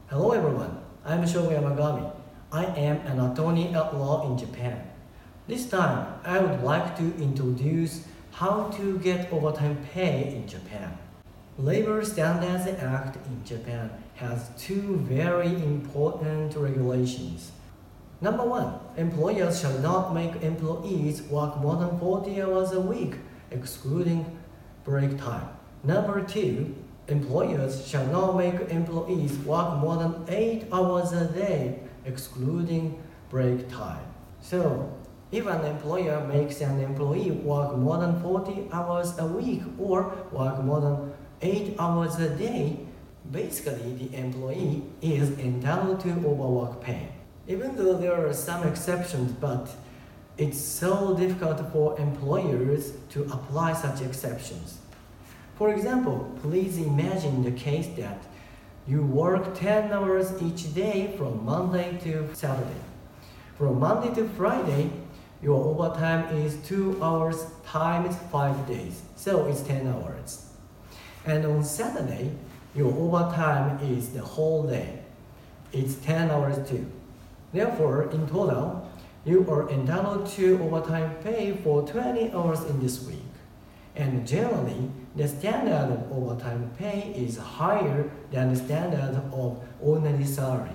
Hello everyone, I'm Shogo Yamagami. I am an attorney at law in Japan. This time, I would like to introduce how to get overtime pay in Japan. Labor Standards Act in Japan has two very important regulations. Number one, employers shall not make employees work more than 40 hours a week, excluding break time. Number two, employers shall not make employees work more than 8 hours a day, excluding break time. So, if an employer makes an employee work more than 40 hours a week or work more than 8 hours a day, basically the employee is entitled to overwork pay. Even though there are some exceptions, but it's so difficult for employers to apply such exceptions. For example, please imagine the case that you work 10 hours each day from Monday to Saturday. From Monday to Friday, your overtime is 2 hours times 5 days, so it's 10 hours. And on Saturday, your overtime is the whole day. It's 10 hours too. Therefore, in total, you are entitled to overtime pay for 20 hours in this week. And generally, the standard of overtime pay is higher than the standard of ordinary salary.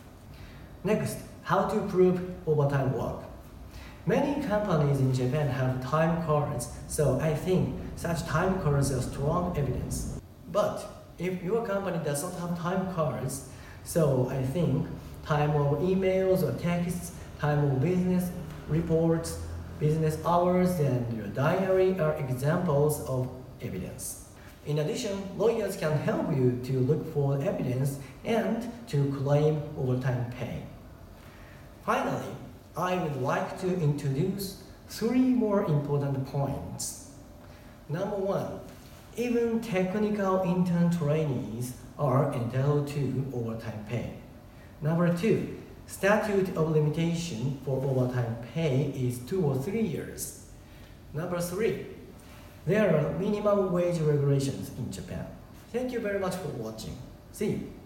Next, how to prove overtime work. Many companies in Japan have time cards, so I think such time cards are strong evidence. But if your company does not have time cards, so I think time of emails or texts, time of business reports, business hours, and your diary are examples of evidence. In addition, lawyers can help you to look for evidence and to claim overtime pay. Finally, I would like to introduce 3 more important points. Number 1, even technical intern trainees are entitled to overtime pay. Number 2, statute of limitation for overtime pay is 2 or 3 years. Number 3, there are minimum wage regulations in Japan. Thank you very much for watching. See you.